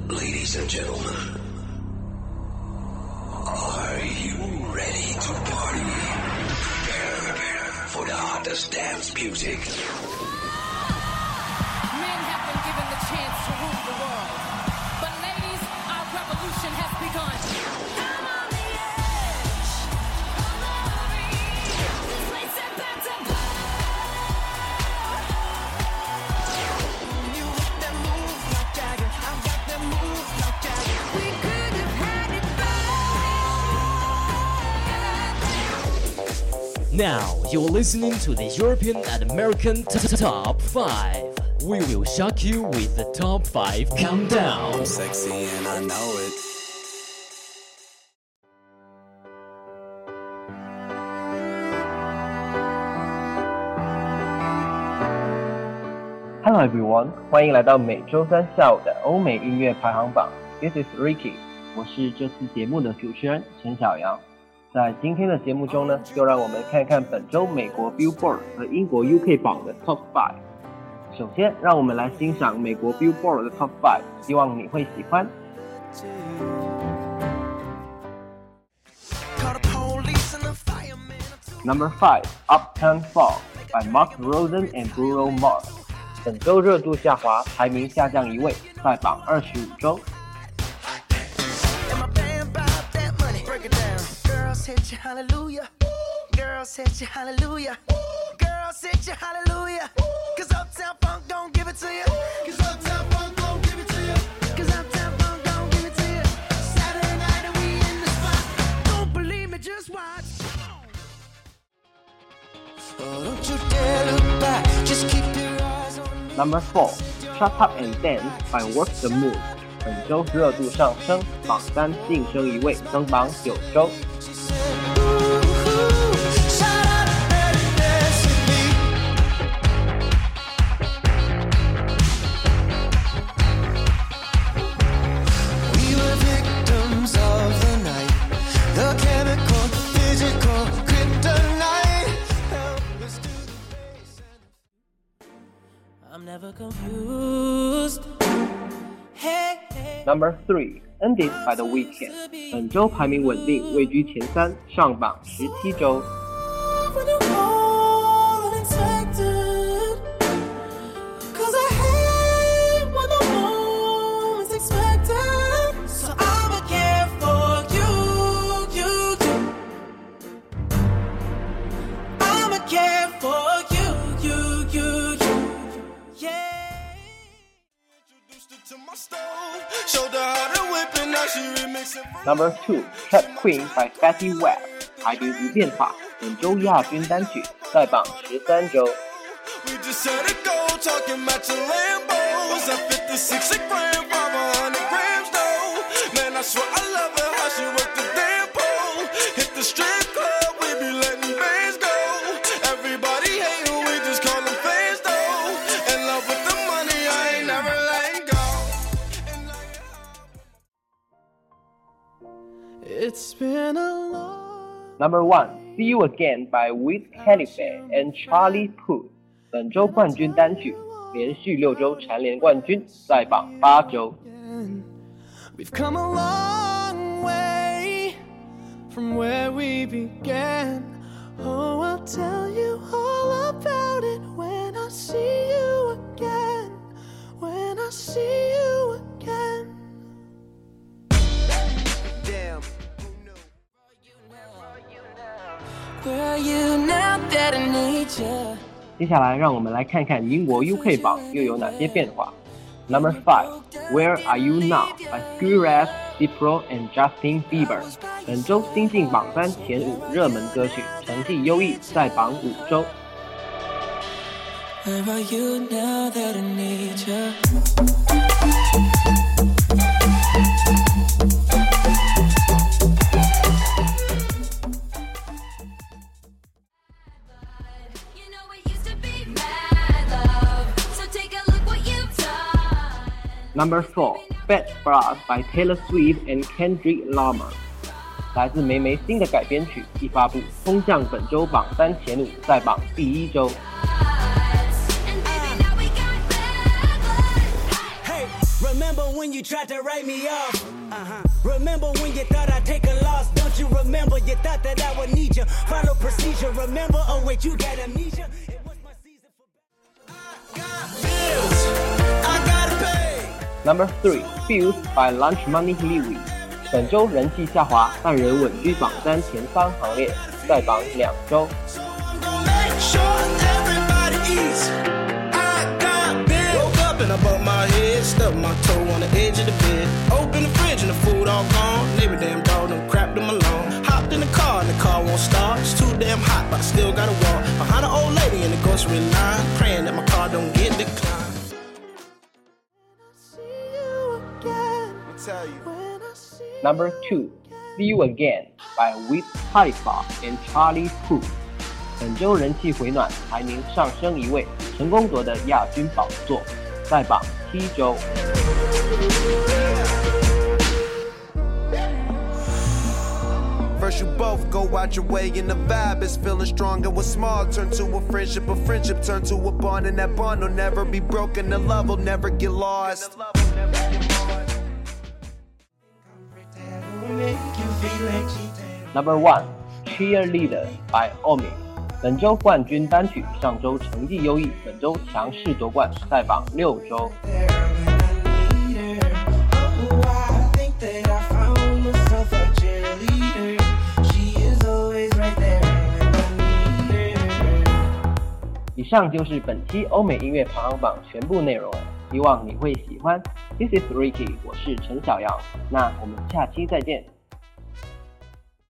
Ladies and gentlemen, are you ready to party? Prepare for the hottest dance music. Men have been given the chance to rule the world. But ladies, our revolution has begun. I'm on the edge of the reach. This place is about to blow. You got that move like Jagger. I got that move like Jagger. We could have had it better. Now you're listening to the European and American Top 5. We will shock you with the Top 5 Countdown. I'm sexy and I know it. Hello everyone， 欢迎来到每周三下午的欧美音乐排行榜。This is Ricky， 我是这次节目的主持人陈小阳。在今天的节目中呢，就让我们看看本周美国 Billboard 和英国 UK 榜的 Top 5。首先，让我们来欣赏美国 Billboard 的 Top 5， 希望你会喜欢。Number 5, Uptown Funk by Mark Ronson and Bruno Mars。本周热度下滑，排名下降一位，在榜25周。 Girls hit you hallelujah. Girls hit you hallelujah. Girls hit you hallelujah. Cause Uptown Funk don't give it to you. Cause Uptown Funk don't give it to you. Cause Uptown Funk don't give it to you. Saturday night and we in the spot. Don't believe me, just watch. So don't you dare look back. Just keep your eyes on me. Number 4, Shut Up and Dance by Work the Moon。本周热度上升，榜3晋升一位，登榜9周。Number 3, Ended by The Weeknd。本周排名稳定，位居前3，上榜17周。Number 2, Trap Queen by Fetty Wap， 排名不变化，本周亚军单曲，在榜13周。Number 1, See You Again by Wiz Khalifa and Charlie Puth。 本周冠军单曲，连续6周蝉联冠军，在榜8周。 We've come a long way from where we began. Oh, I'll tell you all about it when I see you again. When I see you again. Damn. Where are you now that I need you? 接下来让我们来看看英国 UK 榜又有哪些变化。Number 5, Where Are You Now by Skrillex、Diplo and Justin Bieber。 本周新进榜3前5热门歌曲，成绩优异，在榜5周。 Where are you now that I need you? Number 4, Bad for Us by Taylor Swift and Kendrick Lamar。 来自梅梅新的改编曲一发布，冲向本周榜3前5，在榜第1周。 Remember when you tried to write me off? Remember when you thought I'd take a loss? Don't you remember? You thought that I would need you. Follow procedure. Remember? Oh wait, you got amnesia. It was my season for. I got bills. I gotta pay. Number 3 Fuse by Lunch Money Louis 本周人气下滑，但仍稳居榜单前3行列，在榜2周。 I bumped my head, stubbed my toe on the edge of the bed. Open the fridge and the food all gone. Every damn dog done crapped them alone. Hopped in the car and the car won't start. It's too damn hot, but I still gotta walk behind an old lady in the grocery line, praying that my car don't get declined. Number 2 See You Again by Wiz Khalifa and Charlie Puth 本周人气回暖，排名上升1位，成功夺得亚军宝座，在榜7周。 First you both go out your way and the vibe is feeling strong, and what's small turn to a friendship turn to a bond, and that bond will never be broken, the love will never get lost. Number 1 Cheerleader by Omi 本周冠军单曲，上周成绩优异，本周强势夺冠，在榜6周。以上就是本期欧美音乐排行榜全部内容了，希望你会喜欢。This is Ricky， 我是陈小阳，那我们下期再见。